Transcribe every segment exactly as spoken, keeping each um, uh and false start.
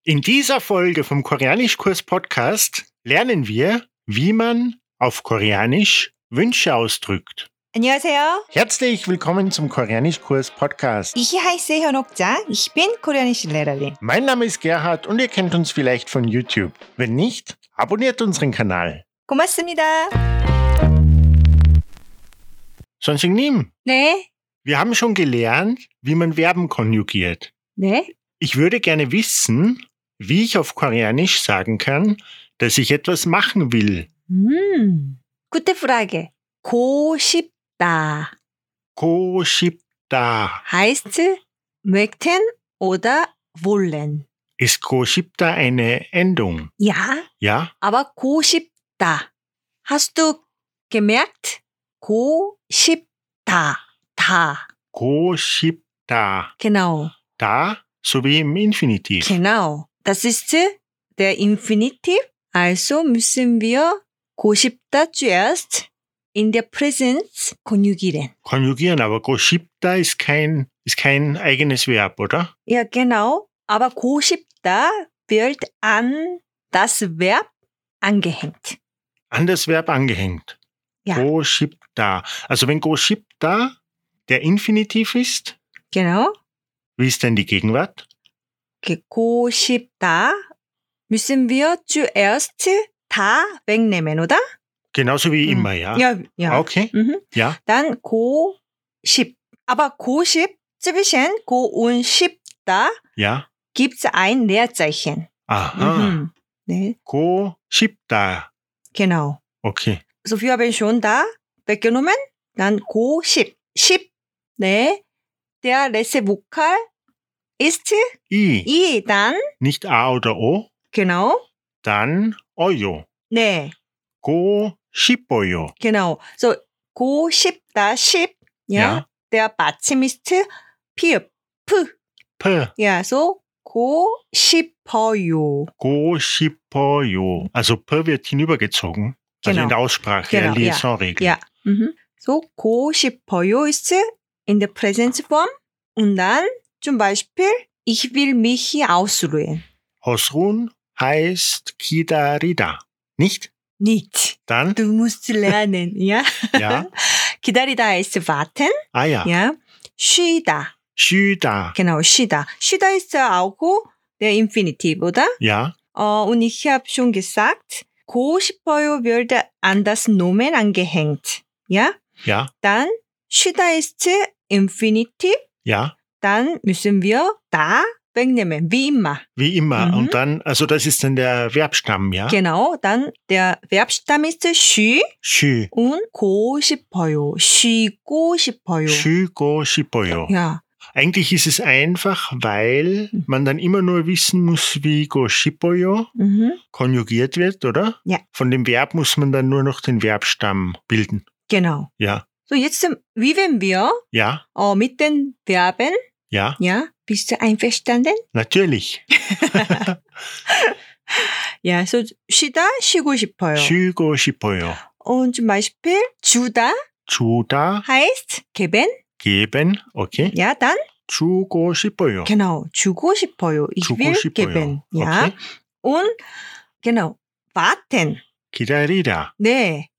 In dieser Folge vom Koreanischkurs-Podcast lernen wir, wie man auf Koreanisch Wünsche ausdrückt. 안녕하세요. Herzlich willkommen zum Koreanischkurs-Podcast. Ich heiße 현옥자. Ich bin koreanische Lehrerin. Mein Name ist Gerhard und ihr kennt uns vielleicht von YouTube. Wenn nicht, abonniert unseren Kanal. 고맙습니다. 선생님, 네. wir haben schon gelernt, wie man Verben konjugiert. 네. Ich würde gerne wissen, wie ich auf Koreanisch sagen kann, dass ich etwas machen will. 음. Gute Frage. Go 싶다 Go 싶다. heißt möchten oder wollen. Ist go 싶다 eine Endung? Ja, Ja? aber go 싶다. Hast du gemerkt? Go 싶다. Da. Go 싶다. Genau. Da sowie im Infinitiv. Genau. Das ist der Infinitiv. Also müssen wir go 싶다 zuerst in der Präsenz konjugieren. Konjugieren, aber go 싶다 ist kein, ist kein eigenes Verb, oder? Ja, genau. Aber go 싶다 wird an das Verb angehängt. An das Verb angehängt. Ja. Go 싶다. Also wenn go 싶다 der Infinitiv ist, Genau. wie ist denn die Gegenwart? Okay, go 싶다 müssen wir zuerst da wegnehmen, oder? Genauso wie Mhm. immer, ja? Ja, ja. Okay, Mhm. ja. Dann go 싶. Aber go 싶 zwischen go und 싶다 Ja. gibt es ein Leerzeichen. Aha. Mhm. 네, Go 싶다. genau. Okay. Also wir haben schon da weggenommen. Dann go 싶. 싶. 네. Der letzte Vokal ist I. I. Dann, Nicht A oder O. genau. Dann Oyo. 네. Go 싶어요. Genau. So, go 싶다, 싶. Ja. Ja. Der Badsim ist 피읍. P. P. Ja, so, go 싶어요. Go 싶어요. Also P wird hinübergezogen. Also Genau. in der Aussprache, Genau, der ja. Liaisonregel. Ja. Mhm. So, go 싶어요 ist in der Präsenzform. Und dann zum Beispiel, ich will mich hier ausruhen. Ausruhen heißt 기다리다. Nicht? Nicht. Dann? Du musst lernen, ja? Ja. 기다리다 heißt warten, Ah ja. ja? 쉬다. 쉬다. Genau, 쉬다. 쉬다 ist auch der Infinitiv, oder? Ja. Äh, und ich habe schon gesagt, go 싶어요 wird an das Nomen angehängt. Ja? Ja. Dann 쉬다 ist Infinitiv. Ja. Dann müssen wir da wegnehmen, wie immer. Wie immer. Mhm. Und dann, also das ist dann der Verbstamm, ja? Genau, dann der Verbstamm ist 쉬 쉬. und go 싶어요. 쉬고 싶어요. 쉬고 싶어요. Ja, Eigentlich ist es einfach, weil man dann immer nur wissen muss, wie go 싶어요 mhm. konjugiert wird, oder? Ja. Von dem Verb muss man dann nur noch den Verbstamm bilden. genau. Ja. So, jetzt üben wir Ja. äh, mit den Verben. Ja. Ja, bist du einverstanden? Natürlich. Ja, so 쉬다, 쉬고 싶어요. 쉬고 싶어요. Und zum Beispiel 주다 주다, heißt geben. geben. Okay. Ja, dann 주고 싶어요. genau, 주고 싶어요. Ich 주고 will 싶어요. geben. Ja. Okay. Und genau, warten. 기다리다. 네.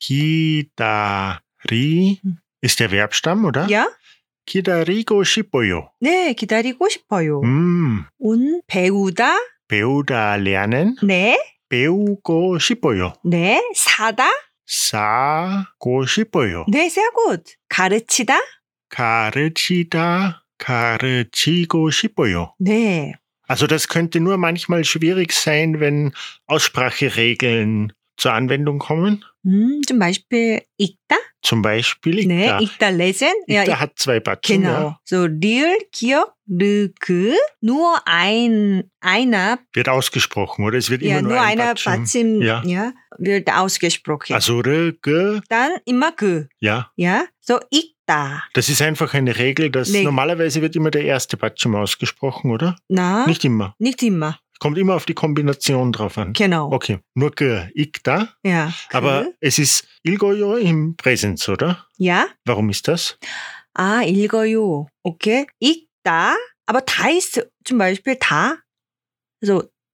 기다리 ist der Verbstamm, oder? Ja? 기다리고 싶어요. 네, 기다리고 싶어요. 음, Und 배우다. 배우다 lernen. 네. 배우고 싶어요. 네. 사다. 사고 싶어요. 네, sehr gut. 가르치다. 가르치다, 가르치고 싶어요. 네. Also das könnte nur manchmal schwierig sein, wenn Ausspracheregeln zur Anwendung kommen. 음, zum Beispiel 읽다. Zum Beispiel 네, Ikta. 읽다 lesen. Ja, Ikta hat zwei Batzen. genau. Ja. So 리을, 기억, 르그. Nur ein, einer, Wird ausgesprochen, oder? Es wird ja, immer nur, nur ein einer Batschen. Batsim, Ja. ja, wird ausgesprochen. Also R, G, Dann immer 그. ja. Ja, so 읽다. Das ist einfach eine Regel, dass Nee. normalerweise wird immer der erste Batschen ausgesprochen, oder? Na, Nicht immer. nicht immer. Kommt immer auf die Kombination drauf an. Genau. Okay, nur G, Ikta. Ja. Aber 그. es ist 읽어요 im Präsens, oder? Ja. Warum ist das? 아, 읽어요. Okay. 읽다. Aber da ist zum Beispiel da. Also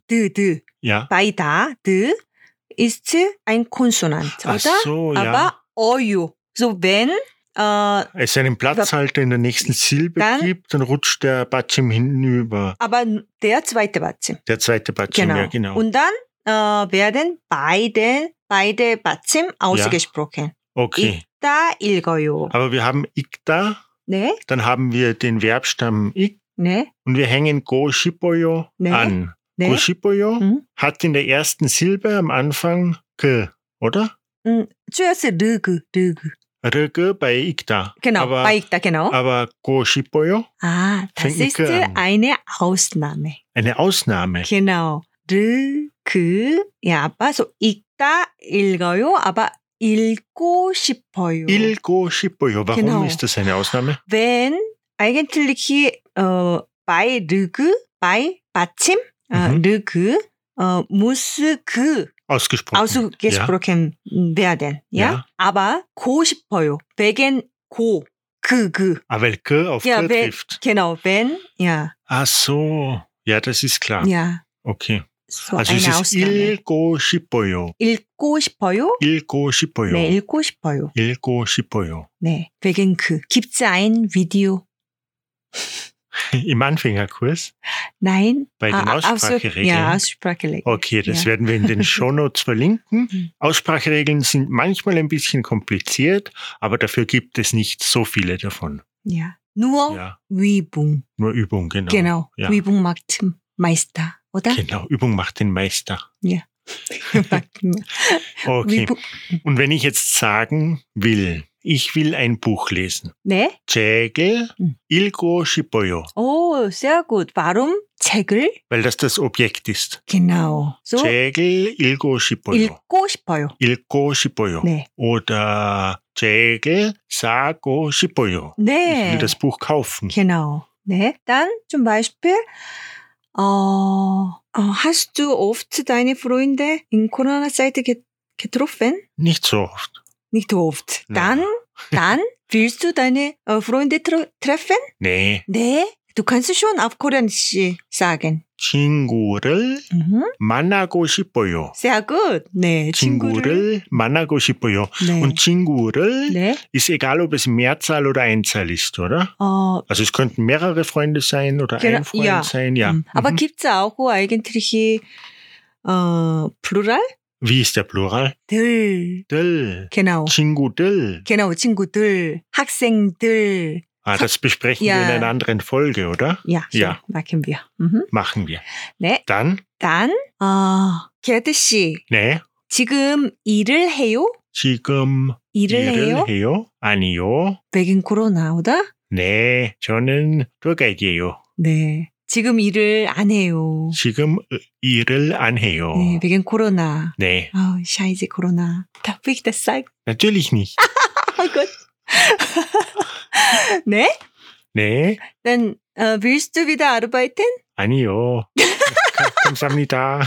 D, D. Ja. Bei da, D ist ein Konsonant, Ach oder? so, ja. Aber Oyu. So wenn äh, Es einen Platzhalter in der nächsten Silbe Dann- gibt, dann rutscht der Batschim hinüber. aber der zweite Batschim. Der zweite Batschim, Genau. ja genau. Und dann äh, werden beide, beide Batschim ausgesprochen. Okay. 읽다, 읽어요. Aber wir haben ikda, 네, dann haben wir den Verbstamm ik 네, und wir hängen go shipoyo Nee. an. 네. Go shipoyo Mhm. hat in der ersten Silbe am Anfang k, oder? 음, zuerst 르그, 르그. Rge bei ikda. Genau, aber, bei 읽다, genau. aber go shipoyo, Ah, das fängt mit ist K an. eine Ausnahme. eine Ausnahme. Genau. 르, 그, ja, aber so 읽다, 읽어요, aber 읽고 싶어요. Ilgo shipoyo. Warum Genau. ist das eine Ausnahme? Wenn eigentlich äh, bei 르그, bei 받침, äh, Mhm. 르그, äh, muss 그 Ausgesprochen. ausgesprochen werden. Ja? Ja. Aber 고 싶어요. wegen 고, 그, 그. Ja. Ah, weil k auf Ja, k wenn, trifft. genau, wenn, ja, Ach so. Ja, das ist klar. ja, Okay. so Also eine es ist Ausnahme. ilgo shipoyo. 읽고 싶어요? Ilgo shipoyo. 네, 읽고 싶어요. Ilgo shipoyo. 네, wegen 그. Gibt's ein Video? Im Anfängerkurs Nein? bei den Ah, ah, Ausspracheregeln. Ja, Ausspracheregeln. Okay, das Ja. werden wir in den Shownotes verlinken. Mhm. Ausspracheregeln sind manchmal ein bisschen kompliziert, aber dafür gibt es nicht so viele davon. Ja. Nur Ja, Übung. nur Übung, genau. Genau. Ja. Übung macht Meister, oder? Genau, Übung macht den Meister. Macht- Okay. Übung. Und wenn ich jetzt sagen will, ich will ein Buch lesen. 네? 책을 음. 읽고 싶어요. Oh, sehr gut. Warum 책을? Weil das das Objekt ist. Genau. So 책을 읽고 싶어요. 읽고 싶어요. 읽고 싶어요. 네. Oder 책을 사고 싶어요. Ich 네. will das Buch kaufen. Genau. 네. Dann zum Beispiel, äh, äh, hast du oft deine Freunde in Corona-Zeit ge- getroffen? Nicht so oft. Nicht oft. Na. Dann, dann willst du deine äh, Freunde tr- treffen? Nee. 네. Du kannst schon auf Koreanisch sagen. 친구를 Mhm. 만나고 싶어요. Sehr gut. 네. 친구를. 친구를 만나고 싶어요. 네. Und 친구를 네. ist egal, ob es Mehrzahl oder Einzahl ist, oder? 어, Also es könnten mehrere Freunde sein oder Genau, ein Freund ja. sein, ja. 음. Aber Mhm. gibt's auch eigentlich äh, Plural? Wie ist der Plural? 들. 들. Genau. 친구들. genau, 친구들, 학생들. Ah, das besprechen Ja. wir in einer anderen Folge, oder? Ja, so Ja. machen wir. Mhm. Machen wir. 네. Dann, 단, 어, 게드 씨, 네. 지금 일을 해요? 지금 일을 해요? 일을 해요? 아니요. wegen 코로나, oder? 네, 저는 도가이예요. 네. 지금 일을 안 해요. 지금 일을 안 해요. 네, wegen 코로나. 네, 아, scheiße, 코로나. Darf ich das sagen? natürlich nicht. Oh Gott. 네? 네, Dann äh, willst du wieder arbeiten? 아니요. 가- 감사합니다.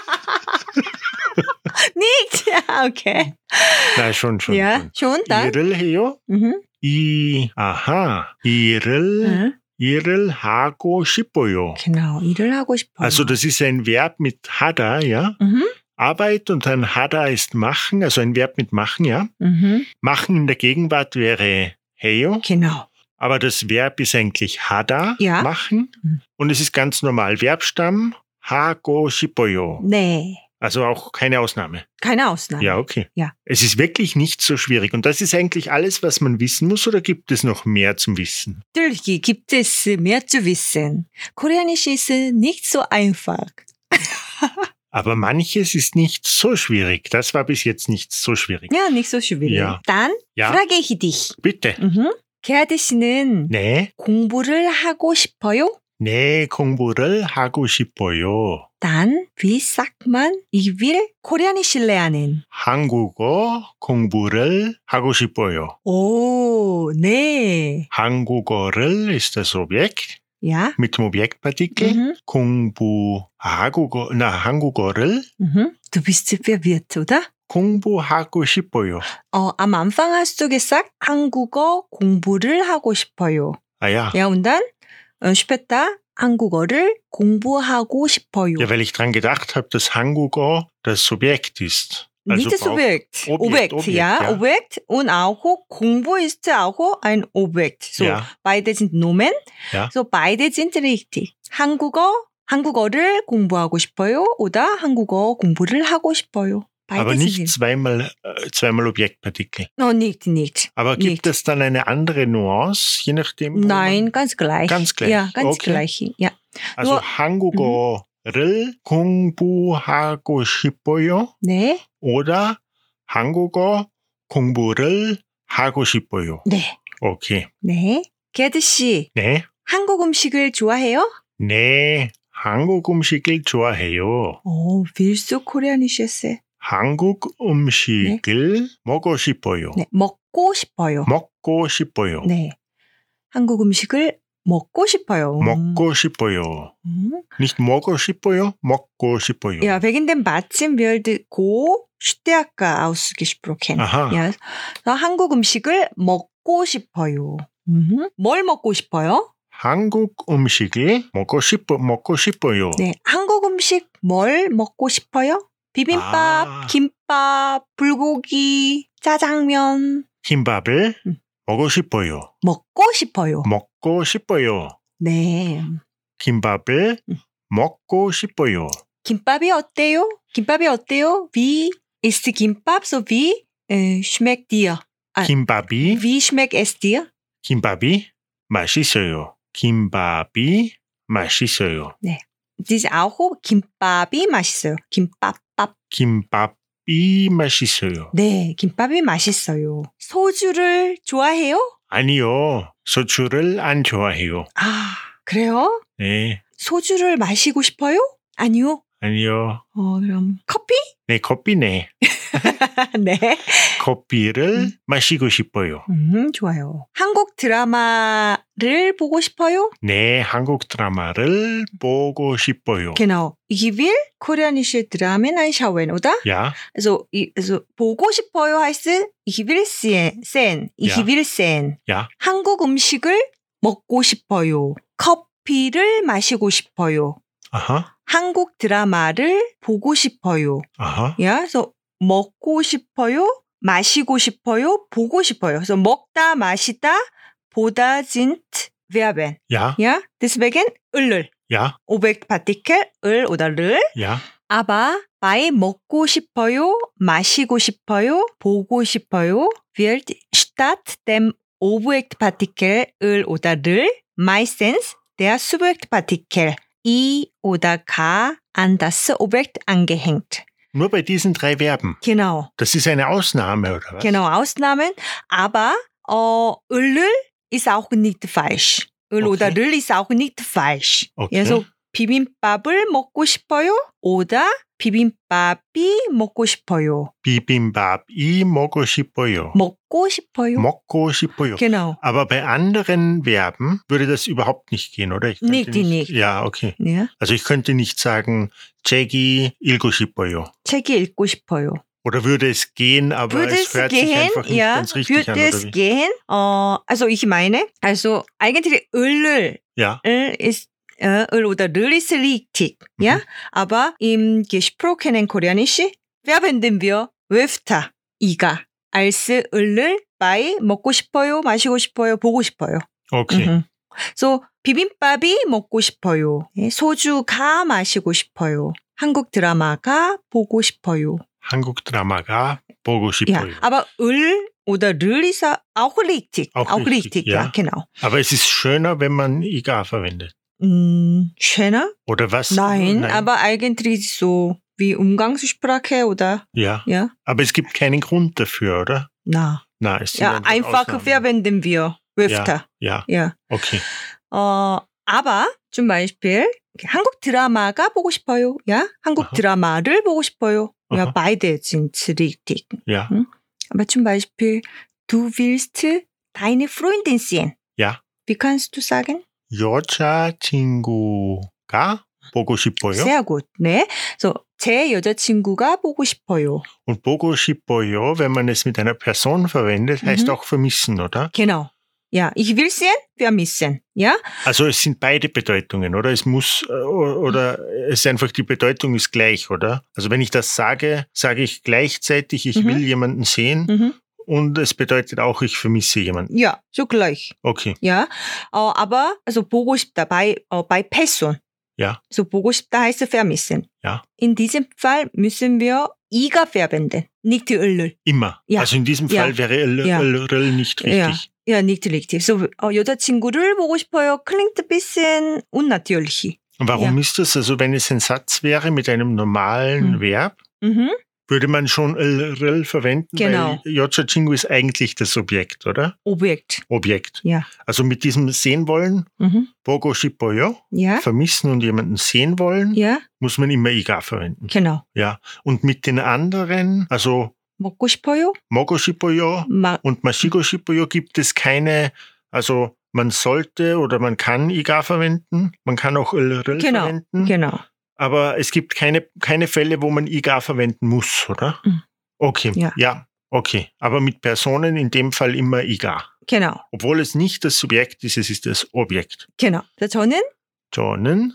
Nicht? Ja, okay. 나 schon, schon. ja, schon. schon, dann. 일을 해요? Mhm. 이, 아하, 일을, Mhm. 일을 하고 싶어요. Genau, 일을 하고 싶어요. Also das ist ein Verb mit hada, ja. Mhm. Arbeit und ein hada ist machen, also ein Verb mit machen, ja. Mhm. Machen in der Gegenwart wäre heyo, Genau. aber das Verb ist eigentlich hada, Ja. machen. Mhm. Und es ist ganz normal Verbstamm hago 싶어요. 네. Also auch keine Ausnahme. keine Ausnahme. Ja, okay. Ja. Es ist wirklich nicht so schwierig. Und das ist eigentlich alles, was man wissen muss, oder gibt es noch mehr zum Wissen? Natürlich gibt es mehr zu wissen. Koreanisch ist nicht so einfach. Aber manches ist nicht so schwierig. Das war bis jetzt nicht so schwierig. Ja, nicht so schwierig. Ja. Dann Ja, frage ich dich. bitte. Mhm. 게하드 씨는 네, 공부를 하고 싶어요? 네, 공부를 하고 싶어요. Dann, wie sagt man, ich will Koreanisch lernen? 한국어 공부를 하고 싶어요. Oh, 네. 한국어를 ist das Objekt Ja. mit dem Objektpartikel. Mhm. 공부하고, na, 한국어를 Mhm. Du bist verwirrt, oder? 공부하고 싶어요. 어, am Anfang hast du gesagt, 한국어 공부를 하고 싶어요. Ah ja, Ja, und dann äh, später 한국어를 공부하고 싶어요. Ja, weil ich dran gedacht habe, dass Hangugo das Subjekt ist. Nicht braucht- Subjekt. Objekt, Objekt, Objekt, ja. ja. Objekt und auch 공부 ist auch ein Objekt. So, Ja. beide sind Nomen. Ja. So, beide sind richtig. 한국어, 한국어를 공부하고 싶어요 oder 한국어 공부를 하고 싶어요. Beide Aber sind nicht zweimal, äh, zweimal Objektpartikel. No, nicht, nicht. Aber gibt Nicht. es dann eine andere Nuance, je nachdem? wo Nein, man- ganz gleich. Ganz gleich. Ja, ganz Okay. gleich. Ja. Also nur- 한국어를 공부하고 싶어요 네, oder 한국어 공부를 하고 싶어요. 네, 오케이. 네. 게드 씨, 네. 한국 음식을 좋아해요? 네. 한국 음식을 좋아해요. 오, 필수 코리아니시였어요. 한국 음식을 먹고 싶어요. 네, 먹고 싶어요. 먹고 싶어요. 네. 한국 음식을 먹고 싶어요. 먹고 싶어요. 음. Nicht 먹고 싶어요, 먹고 싶어요. Ja, wegen dem Batzen wird go stärker ausgesprochen. Aha. Ja, 그래서 한국 음식을 먹고 싶어요. 음. 뭘 먹고 싶어요? 한국 음식을 먹고 싶어 먹고 싶어요. 네, 한국 음식 뭘 먹고 싶어요? 비빔밥, 아. 김밥, 불고기, 짜장면 김밥을 음. 먹고 싶어요. 먹고 싶어요. 먹고 싶어요. 네. 김밥을 음. 먹고 싶어요. 김밥이 어때요? 김밥이 어때요? Wie ist 김밥? So wie äh, schmeckt dir? 아, 김밥이 Wie schmeckt es dir? 김밥이 맛있어요. 김밥이 맛있어요. Das ist auch 김밥이 맛있어요. 김밥. 김밥이 맛있어요. 네, 김밥이 맛있어요. 소주를 좋아해요? 아니요. 소주를 안 좋아해요. 아, 그래요? 네. 소주를 마시고 싶어요? 아니요. 아니요. 어, 그럼 커피? 네, 커피네. 네. 커피를 음. 마시고 싶어요. 음, 좋아요. 한국 드라마를 보고 싶어요? 네, 한국 드라마를 보고 싶어요. Genau. Ich will koreanische Dramen anschauen, oder? Ja, Also, ich, also 보고 싶어요 heißt ich will sehen. sehen. Ich Ja. will sehen. ja. 한국 음식을 먹고 싶어요. 커피를 마시고 싶어요. Aha, 한국 드라마를 보고 싶어요. aha. Ja, so 먹고 싶어요, 마시고 싶어요, 보고 싶어요. 그래서 먹다, 마시다, 보다 sind Verben. Ja, Ja, deswegen 을을 ja, Objektpartikel 을 oder 를. ja. Aber bei 먹고 싶어요, 마시고 싶어요, 보고 싶어요 wird statt dem Objektpartikel 을 oder 를 meistens der Subjektpartikel i oder k an das Objekt angehängt. Nur bei diesen drei Verben. Genau, Das ist eine Ausnahme, oder was? genau, Ausnahmen. Aber äh, 을을 ist auch nicht falsch. 을 Okay. oder 를 ist auch nicht falsch. Okay. 그래서 비빔밥을 먹고 싶어요 oder 비빔밥이 먹고 싶어요. Bibimbap-i 먹고 싶어요. 먹고 싶어요. 먹고 싶어요. Genau. Aber bei anderen Verben würde das überhaupt nicht gehen, oder? Ich könnte Nicht, nicht. Ja, okay. Ja. Also ich könnte nicht sagen, 책이 읽고 싶어요. 책이 읽고 싶어요. Oder würde es gehen, aber Würde es es hört sich gehen? einfach nicht Ja, ganz richtig würde an, es oder wie? gehen? Äh, also ich meine, also eigentlich 을을 Ja, 을 ist äh, 을 oder 를 ist richtig, ja? Aber im gesprochenen Koreanisch verwenden wir öfter 이가 als 을을 bei 먹고 싶어요, 마시고 싶어요, 보고 싶어요. okay. Mhm. So 비빔밥이 먹고 싶어요. 예, 소주가 마시고 싶어요. 한국 드라마가 보고 싶어요. 한국 드라마가 보고 Ja, 싶어요. aber 을 oder 를 ist auch richtig. Auch Auch richtig, richtig, ja, ja. genau. Aber es ist schöner, wenn man iga verwendet. 음, schöner? Oder was? Nein, aber eigentlich so wie Umgangssprache oder Ja, ja, aber es gibt keinen Grund dafür, oder? na. Na, es sind Ja, einfach Ausnahmen. verwenden wir öfter. Ja, Ja. okay. 어, aber zum Beispiel 한국 드라마가 보고 싶어요. Ja, 한국 Aha. 드라마를 보고 싶어요. Ja, Aha. beide sind richtig. Ja, Aber zum Beispiel du willst deine Freundin sehen. ja. Wie kannst du sagen? 여자친구가 보고 싶어요. Sehr gut. 네. So, 제 여자친구가 보고 싶어요. Und 보고 싶어요, wenn man es mit einer Person verwendet, heißt Mhm. auch vermissen, oder? Genau. Ja, ich will sehen, vermissen. Ja, Also es sind beide Bedeutungen, oder? Es muss, äh, oder es ist einfach, die Bedeutung ist gleich, oder? Also wenn ich das sage, sage ich gleichzeitig, ich Mhm. will jemanden sehen mhm. und es bedeutet auch, ich vermisse jemanden. ja, so gleich. Okay, Ja, 어, aber also 보고 싶다 bei, 어, bei Person. ja, So 보고 싶다 heißt vermissen. ja, In diesem Fall müssen wir 이가 verwenden, nicht 을을. immer. Ja. Also in diesem Ja. Fall wäre L, Ja. L, L nicht richtig. Ja, nicht richtig. So, 어, 여자친구를 보고 싶어요. Klingt ein bisschen unnatürlich. Und warum Ja. ist das? Also wenn es ein Satz wäre mit einem normalen Hm. Verb, Mhm. würde man schon L, L verwenden, Genau. weil 여자친구 ist eigentlich das Objekt, oder? Objekt. Objekt. Ja. Also mit diesem sehen wollen, Mhm. 보고 싶어요, Ja, vermissen und jemanden sehen wollen, ja, muss man immer 이가 verwenden. genau. Ja. Und mit den anderen, also 먹고 싶어요. 먹고 싶어요 마, und 마시고 싶어요 gibt es keine, also man sollte oder man kann 이가 verwenden, man kann auch L, L Genau. verwenden, genau. aber es gibt keine, keine Fälle, wo man 이가 verwenden muss, oder? Mhm. Okay, Ja. ja, okay. Aber mit Personen in dem Fall immer 이가. Genau. Obwohl es nicht das Subjekt ist, es ist das Objekt. genau. 자, 저는 저는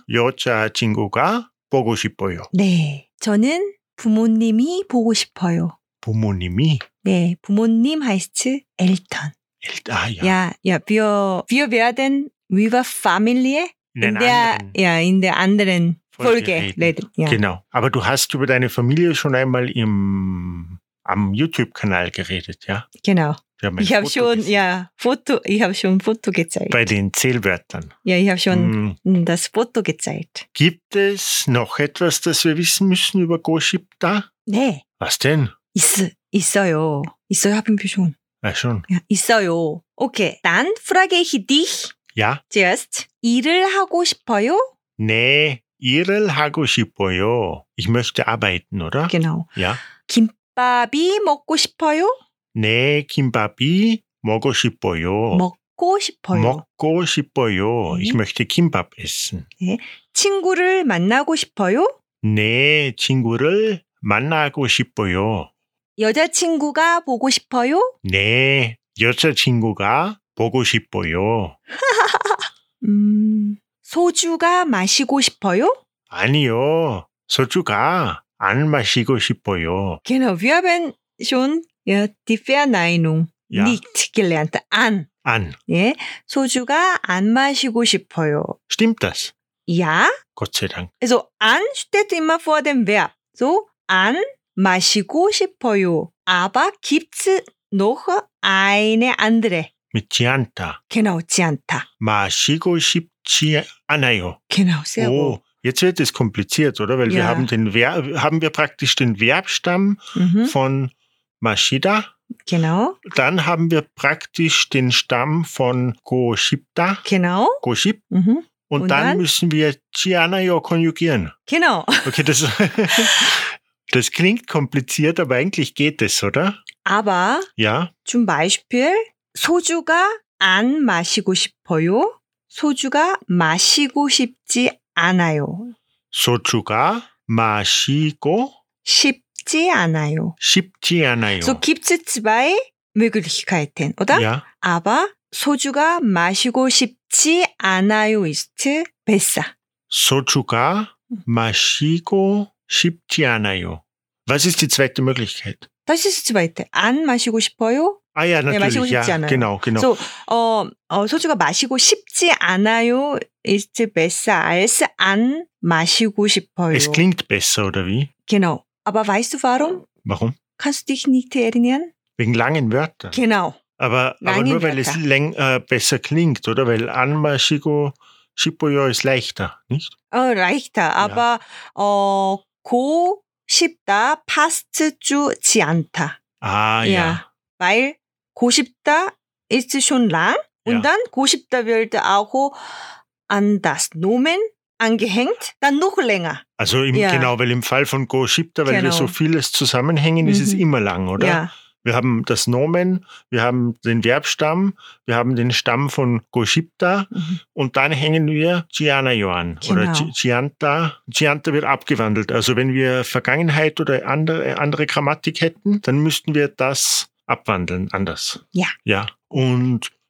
여자친구가 보고 싶어요. 네, 저는 부모님이 보고 싶어요. 부모님이 네, 부모님 heißt Eltern. Ah, ja. Ja, ja, wir, wir werden über Familie In in einer der, anderen ja, in der anderen Folge Folge reden. reden. Ja. Genau. Aber du hast über deine Familie schon einmal im, am YouTube-Kanal geredet, ja? Genau. Wir haben ein Ich habe Foto schon, gesehen. ja, Foto, ich habe schon Foto gezeigt. Bei den Zählwörtern. ja, ich habe schon Hm. das Foto gezeigt. Gibt es noch etwas, das wir wissen müssen über 고싶다? 네, Was denn? 있, 있어요. 있어요 haben wir schon. Ah, schon. Ja, 있어요. Okay, dann frage ich dich Ja? zuerst. 일을 하고 싶어요? 네, 일을 하고 싶어요. Ich möchte arbeiten, oder? Genau. Ja. 김밥이 먹고 싶어요? 네, 김밥이 먹고 싶어요. 먹고 싶어요. 먹고 싶어요. 네. Ich möchte Kimbab essen. 친구를 만나고 싶어요? 네, 친구를 만나고 싶어요. 여자친구가 보고 싶어요? 네, 여자친구가 보고 싶어요. 음, 소주가 마시고 싶어요? 아니요, 소주가 안 마시고 싶어요. Genau, wir haben schon ja, die Verneinung Ja. nicht gelernt. an. 안. 예, 소주가 안 마시고 싶어요. Stimmt das? Ja, Gott sei Dank. also an steht immer vor dem Verb. So, an 마시고 싶어요. Aber gibt's noch eine andere? Mit 지않다. Genau, 지않다. 마시고 싶지 않아요. Genau, sehr gut. Oh, jetzt wird es kompliziert, oder? Weil wir Ja. haben den Ver haben wir praktisch den Verbstamm Mhm, von 마시다. genau, Dann haben wir praktisch den Stamm von 고싶다, genau. 고쉽. Mhm, Und, Und dann, dann? müssen wir 지않아요 konjugieren. genau. Okay, das, das klingt kompliziert, aber eigentlich geht es, oder? Aber Ja. zum Beispiel 소주가 안 마시고 싶어요. 소주가 마시고 싶지 않아요. 소주가 마시고 싶지 않아요. 싶지 않아요. So gibt es zwei Möglichkeiten, oder? Ja. Aber 소주가 마시고 싶지 않아요 ist besser. 소주가 마시고 싶지 않아요. Was ist die zweite Möglichkeit? Das ist die zweite. 안 마시고 싶어요. Ah ja, 네, 마시고 natürlich. 싶지 Ja, 않아요. genau, genau. So, 어, 어, 소주가 마시고 싶지 않아요 ist besser als 안 마시고 싶어요. Es klingt besser, oder wie? Genau. Aber weißt du warum? Warum? Kannst du dich nicht erinnern? Wegen langen Wörtern. Genau. Aber, aber Lange nur weil es Wörter. läng, äh, besser klingt, oder? Weil 안마시고 싶어요 ist leichter, nicht? 어, leichter. Aber 어, 고 싶다 passt zu 지않다. Ah, ja. Weil 고 싶다 ist schon lang und Ja. dann 고 싶다 wird auch an das Nomen angehängt, dann noch länger. Also im, Ja. genau, weil im Fall von Goshipta, weil wir Genau. so vieles zusammenhängen, ist es Mhm. immer lang, oder? Ja. Wir haben das Nomen, wir haben den Verbstamm, wir haben den Stamm von Goshipta Mhm. und dann hängen wir Gianayo an. Oder Genau. Gi- Gianta. Gianta wird abgewandelt. Also wenn wir Vergangenheit oder andere, andere Grammatik hätten, dann müssten wir das abwandeln, anders. Ja. Ja. Und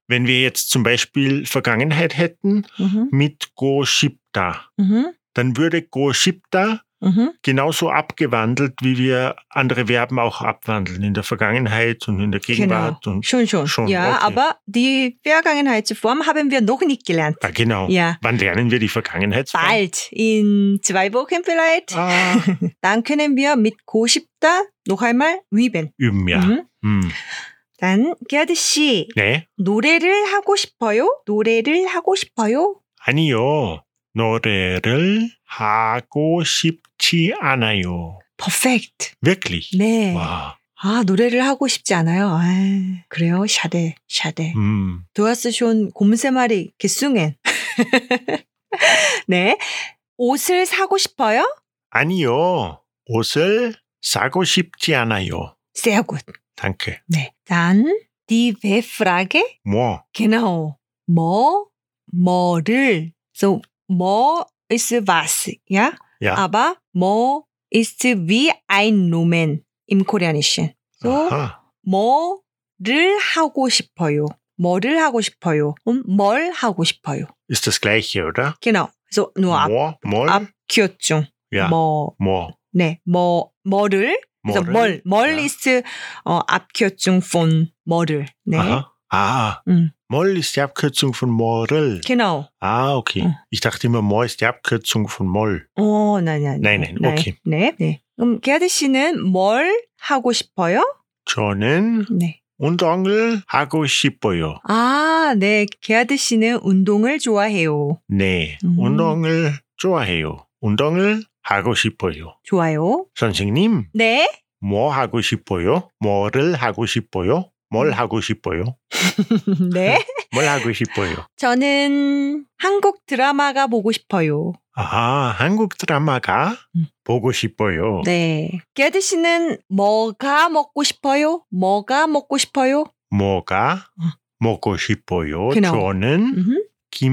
Wenn wir jetzt zum Beispiel Vergangenheit hätten Mhm. mit go 싶다, Mhm. dann würde go 싶다 Mhm. genauso abgewandelt, wie wir andere Verben auch abwandeln, in der Vergangenheit und in der Gegenwart. Genau. Und Schon, schon. Schon, ja, okay. aber die Vergangenheitsform haben wir noch nicht gelernt. ah, genau. Ja. Wann lernen wir die Vergangenheitsform? Bald, in zwei Wochen vielleicht. Ah, Dann können wir mit 고 싶다 noch einmal üben. üben, ja. Mhm. Hm. dann 게아드 씨, 네, 노래를 하고 싶어요? 노래를 하고 싶어요? 아니요. 노래를 하고 싶지 않아요. Perfect. Wirklich? 네. 와, 아, 노래를 하고 싶지 않아요. 아, 그래요? schade, schade. 음. Du hast schon 곰새말이 gesungen. 네. 옷을 사고 싶어요? 아니요. 옷을 사고 싶지 않아요. Sehr gut. Danke. 네. Dann die W-Frage. 뭐? Genau. 뭐, 뭐를. So, 뭐 ist was, ja? Ja. Aber 뭐 ist wie ein Nomen im Koreanischen. So, Aha. 뭐를 하고 싶어요. 뭐를 하고 싶어요. Und 뭘 하고 싶어요. Ist das Gleiche, oder? Genau. So, nur ab, 뭐? 뭘? Abkürzung. ja. 뭐, 뭐? 네, 뭐, 뭐를. 그래서 뭐를? 뭘, 뭘 Ja. ist 어, Abkürzung von 뭐를. 네. Aha. Ah. 음. Moll ist die Abkürzung von Morel. Genau. Ah, okay. 음. Ich dachte immer, Mo ist die Abkürzung von Moll. 어, nein, nein. Nein, nein, okay. 네, 네. 그럼 게아드 씨는 뭘 하고 싶어요? 저는 네. 운동을 하고 싶어요. 아, 네. 게아드 씨는 운동을 좋아해요. 네, 음. 운동을 좋아해요. 운동을 하고 싶어요. 좋아요. 선생님, 네. 뭐 하고 싶어요? 뭐를 하고 싶어요? 뭘 음. 하고 싶어요? 네. 뭘 하고 싶어요? 저는 한국 드라마가 보고 싶어요. 아, 한국 드라마가 음. 보고 싶어요. 네. 게아드 씨는 뭐가 먹고 싶어요? 뭐가 먹고 싶어요? 뭐가 음. 먹고 싶어요? genau. 저는 Mhm.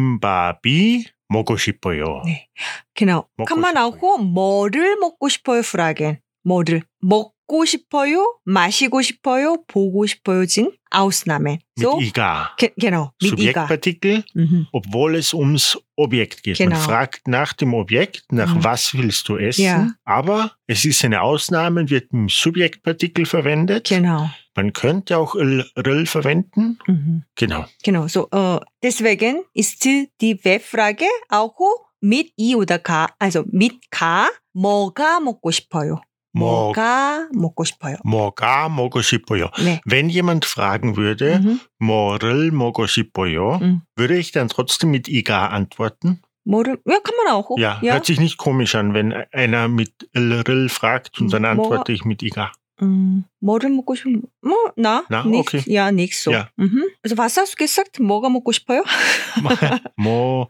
김밥이 먹고 싶어요. 네. Genau. 먹고 Kann man 싶어요. auch 뭐를 먹고 싶어요 fragen. 뭐를 먹고 싶어요? 마시고 싶어요? 보고 싶어요? 진 Ausnahmen. Mit So, iga. ge- genau, mit iga. Subjektpartikel, Mhm. obwohl es ums Objekt geht. Genau. Man fragt nach dem Objekt, nach Mhm. was willst du essen, Ja. aber es ist eine Ausnahme, wird im Subjektpartikel verwendet. Genau. Man könnte auch l, rl verwenden. Mhm. Genau. Genau. So, äh, deswegen ist die W-Frage auch mit i oder k, also mit k, 뭐가 먹고 싶어요? 뭐- 뭐가 먹고 싶어요? 뭐가 먹고 싶어요. 네. Wenn jemand fragen würde, Mhm. 뭐를 먹고 싶어요, Mhm. würde ich dann trotzdem mit iga antworten? 뭐를, ja, kann man auch. Ja, ja. hört sich nicht komisch an, wenn einer mit lrl fragt und dann Mhm. antworte ich mit iga. 음, 뭐를 먹고 싶어? 뭐, 나? Na, nichts. okay. Ja, nichts so. Ja. Mhm. Also, was hast du gesagt? 뭐가 먹고 싶어요? 뭐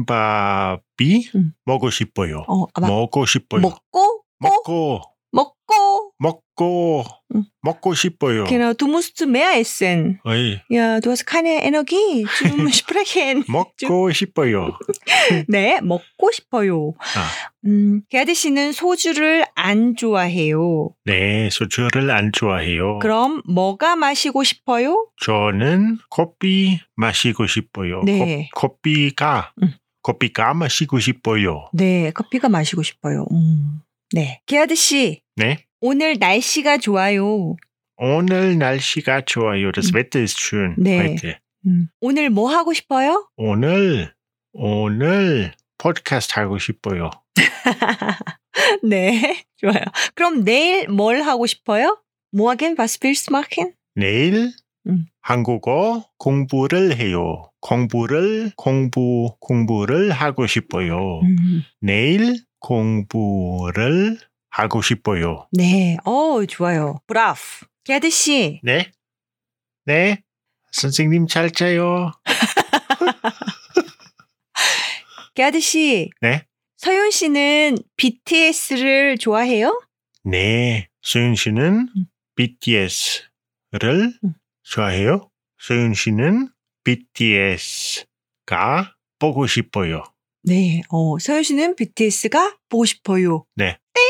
김밥이 음. 먹고 싶어요. 어, aber 먹고 싶어요. 먹고, 먹고 먹고. 먹고 음. 먹고 싶어요. Genau, du musst mehr essen. 어이, Ja, du hast keine Energie zum Sprechen. 먹고 싶어요. 네, 먹고 싶어요. 아, 음, 게아드 씨는 소주를 안 좋아해요. 네, 소주를 안 좋아해요. 그럼 뭐가 마시고 싶어요? 저는 커피 마시고 싶어요. 네. 커, 커피가 음. 커피가 마시고 싶어요. 네, 커피가 마시고 싶어요. 음. 네. 게아드 씨, 네. 오늘 날씨가 좋아요. 오늘 날씨가 좋아요. Das 음. Wetter ist schön 네. heute. 음. 오늘 뭐 하고 싶어요? 오늘 오늘 팟캐스트 하고 싶어요. 네, 좋아요. 그럼 내일 뭘 하고 싶어요? Morgen, was willst du machen? 내일 음. 한국어 공부를 해요. 공부를 공부 공부를 하고 싶어요. 음. 내일 공부를 하고 싶어요. 네, 어, 좋아요. 브라프. 게아드 씨, 네? 네? 선생님 잘 자요. 게아드 씨, 네? 서윤 씨는 비티에스를 좋아해요? 네. 소윤 씨는 음. 비티에스를 음. 좋아해요. 소윤 씨는 비티에스가 보고 싶어요. 네, 어, 서윤 씨는 비티에스가 보고 싶어요. 네. 땡!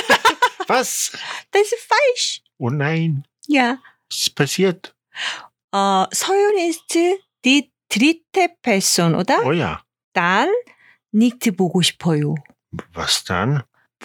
Was? Das ist falsch. Oh nein. Ja. Was ist passiert? 어, 서윤 ist die dritte Person, oder? Oh ja. Dann nicht 보고 싶어요. Was dann?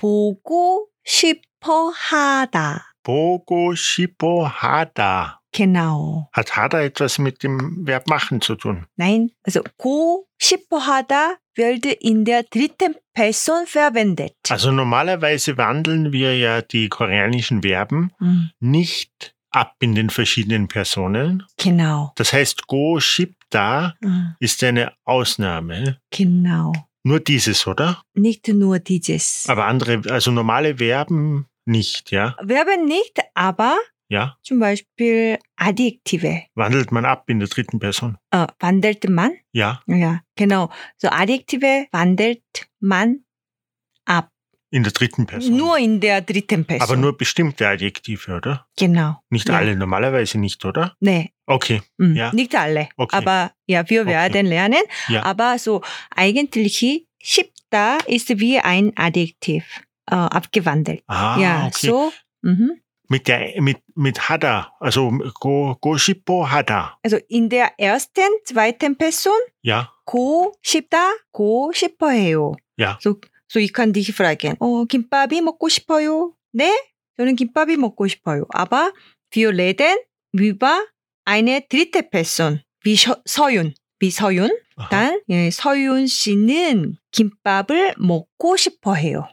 보고 싶어 하다. 보고 싶어 하다. Genau. Hat 하다 etwas mit dem Verb machen zu tun? Nein, also 고 싶어 하다 wird in der dritten Person verwendet. Also normalerweise wandeln wir ja die koreanischen Verben 음, nicht ab in den verschiedenen Personen. genau. Das heißt, go 싶다 음, ist eine Ausnahme. genau. Nur dieses, oder? Nicht nur dieses. Aber andere, also normale Verben nicht, ja? Verben nicht, aber Ja? zum Beispiel Adjektive. Wandelt man ab in der dritten Person? Äh, wandelt man? Ja, Ja, genau. So Adjektive wandelt man ab. in der dritten Person. Nur in der dritten Person. Aber nur bestimmte Adjektive, oder? Genau. Nicht Ja. alle, normalerweise nicht, oder? Nee, Okay, 음, Ja. nicht alle. Okay. Aber ja, wir Okay. werden lernen. Ja. Aber so eigentlich 쉽다 ist wie ein Adjektiv äh, abgewandelt. Ah, ja, okay. so. Mhm. Mit, der, mit, mit hada, also go, go 싶어 hada. Also in der ersten, zweiten Person Ja, 고 싶다, 고 싶어해요. ja. So, so ich kann dich fragen. 어, 김밥이 먹고 싶어요? 네, 저는 김밥이 먹고 싶어요. Aber wir reden über eine dritte Person, wie 서, 서윤, wie 서윤. Aha. 단 예, 서윤 씨는 김밥을 먹고 싶어해요.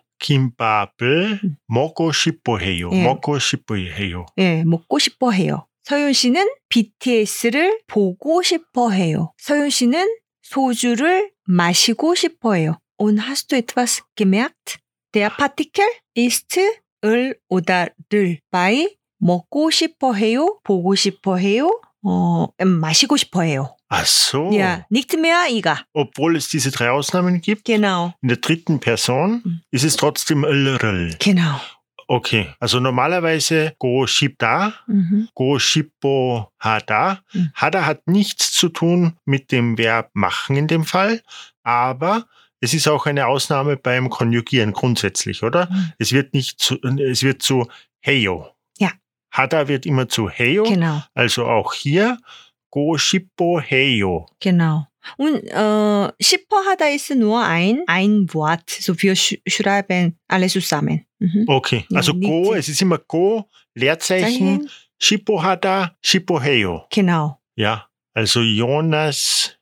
김밥을 음. 먹고 싶어 해요. 예. 먹고 싶어 해요. 예, 먹고 싶어해요. 서윤 씨는 비티에스를 보고 싶어해요. 서윤 씨는 소주를 마시고 싶어해요. Und hast du etwas gemerkt? Der Partikel ist 을 oder 를. bei 먹고 싶어해요, 보고 싶어해요, 어, 마시고 싶어해요. Ach so. Ja, nicht mehr 이가. Obwohl es diese drei Ausnahmen gibt, Genau, in der dritten Person Mhm. ist es trotzdem ll. genau. Okay, also normalerweise go 싶다, Mhm. go 싶어 하다. Mhm. Hada hat nichts zu tun mit dem Verb machen in dem Fall, aber es ist auch eine Ausnahme beim Konjugieren grundsätzlich, oder? Mhm. Es wird nicht zu, es wird zu heyo. Ja. Hada wird immer zu heyo, Genau, also auch hier go 싶어 해요. genau. Und äh, 싶어 하다 ist nur ein, ein Wort. So wir sch schreiben alle zusammen. Mhm. Okay, Ja, also nicht go, die- es ist immer go, Leerzeichen, 싶어 하다, 싶어 해요. Genau. Ja, also Jonas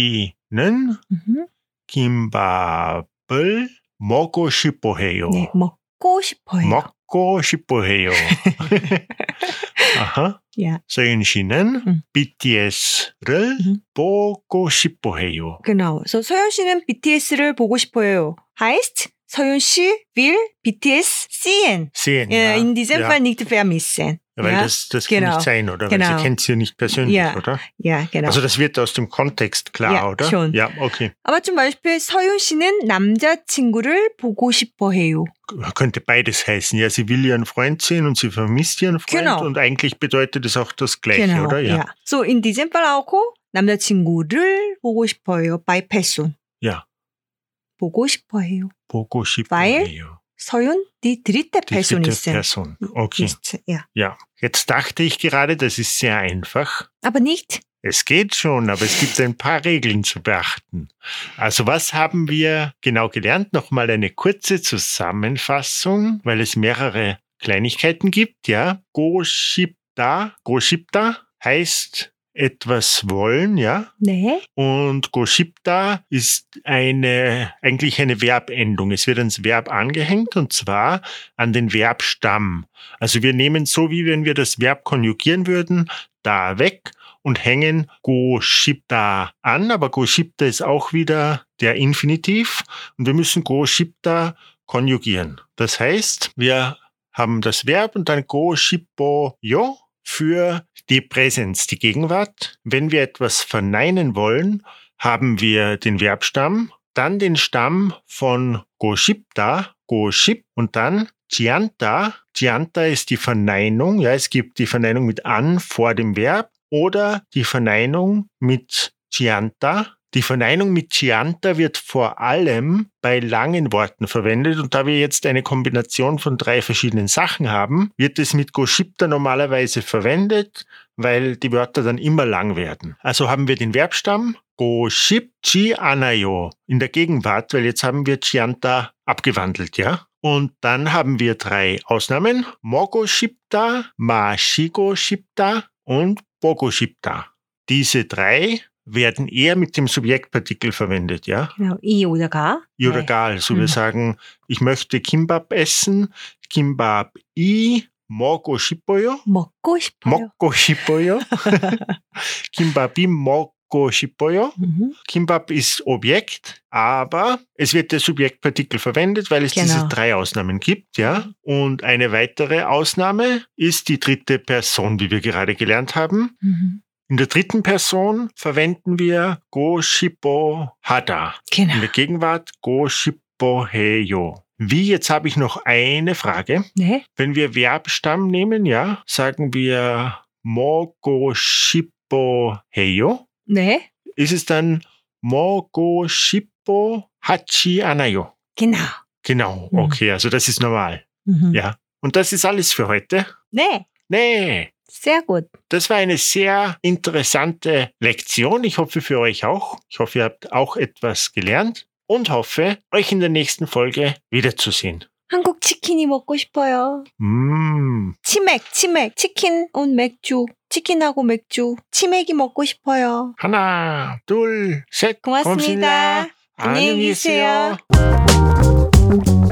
씨는 Mhm. 김밥을 먹고 싶어 해요. 네, 먹고 싶어요. 먹고 싶어 해요. 아하. Ja, 서윤 씨는 음. 비티에스를 음. 보고 싶어 해요. genau. So 서윤 씨는 비티에스를 보고 싶어요. heißt, 서윤 씨 will B T S sehen. Sehen, Äh, ja. in diesem ja. Fall nicht vermissen. Weil ja? das, das kann genau. nicht sein, oder? Weil Genau. sie kennt sie ja nicht persönlich, Ja. oder? Ja, genau. Also das wird aus dem Kontext klar, Ja, oder? schon. Ja, okay. Aber zum Beispiel 서윤 씨는 남자친구를 보고 싶어 해요. Könnte beides heißen. Ja, sie will ihren Freund sehen und sie vermisst ihren Freund. Genau. Und eigentlich bedeutet es auch das Gleiche, genau. oder? Ja. Ja. So in diesem Fall auch 남자친구를 보고 싶어요. by person. Ja. 보고 싶어 해요. 보고 싶어 Weil 해요. 서윤 die dritte Die Person dritte ist. Person. Okay. Ist, ja. Ja. Jetzt dachte ich gerade, das ist sehr einfach. Aber nicht. Es geht schon, aber es gibt ein paar Regeln zu beachten. Also was haben wir genau gelernt? Nochmal eine kurze Zusammenfassung, weil es mehrere Kleinigkeiten gibt. Ja, go 싶다, go 싶다 heißt etwas wollen, ja. 네. Und go 싶다 ist eine, eigentlich eine Verbendung. Es wird ans Verb angehängt und zwar an den Verbstamm. Also wir nehmen so, wie wenn wir das Verb konjugieren würden, da weg und hängen go 싶다 an, aber go 싶다 ist auch wieder der Infinitiv und wir müssen go 싶다 konjugieren. Das heißt, wir haben das Verb und dann go 싶어요 für die Präsenz, die Gegenwart. Wenn wir etwas verneinen wollen, haben wir den Verbstamm, dann den Stamm von go 싶다, go 싶 und dann 지않다. 지않다 ist die Verneinung. Ja, es gibt die Verneinung mit an vor dem Verb oder die Verneinung mit 지않다, Die Verneinung mit Chianta wird vor allem bei langen Worten verwendet und da wir jetzt eine Kombination von drei verschiedenen Sachen haben, wird es mit Goshipta normalerweise verwendet, weil die Wörter dann immer lang werden. Also haben wir den Verbstamm Goshipchi anayo in der Gegenwart, weil jetzt haben wir Chianta abgewandelt, ja? Und dann haben wir drei Ausnahmen: Mogoshipta, Mashigoshipta und Bogoshipta. Diese drei werden eher mit dem Subjektpartikel verwendet, ja? Genau, I oder Ga. I oder 네. Ga. Also Mhm. wir sagen, ich möchte Kimbap essen, Kimbap I 먹고 싶어요. 먹고 싶어요. 먹고 싶어요. Kimbap I 먹고 싶어요. Mhm. Kimbap ist Objekt, aber es wird der Subjektpartikel verwendet, weil es Genau. diese drei Ausnahmen gibt, ja. Und eine weitere Ausnahme ist die dritte Person, wie wir gerade gelernt haben. Mhm. In der dritten Person verwenden wir go shippo hada. Genau. In der Gegenwart go shippo heyo. Wie, jetzt habe ich noch eine Frage. 네. Wenn wir Verbstamm nehmen, ja, sagen wir 먹고 싶어 해요. 네. Ist es dann 먹고 싶어 하지 않아요? Genau. Genau, Mhm. okay, also das ist normal. Mhm. Ja. Und das ist alles für heute? 네. Nee. Sehr gut. Das war eine sehr interessante Lektion. Ich hoffe für euch auch. Ich hoffe, ihr habt auch etwas gelernt und hoffe, euch in der nächsten Folge wiederzusehen. 한국 치킨이 먹고 싶어요. Mm. 치맥, 치맥, 치킨 und 맥주. 치킨하고 맥주. 치맥이 먹고 싶어요. 하나, 둘, 셋. 고맙습니다. 고맙습니다. 안녕히 안녕히 계세요. 계세요.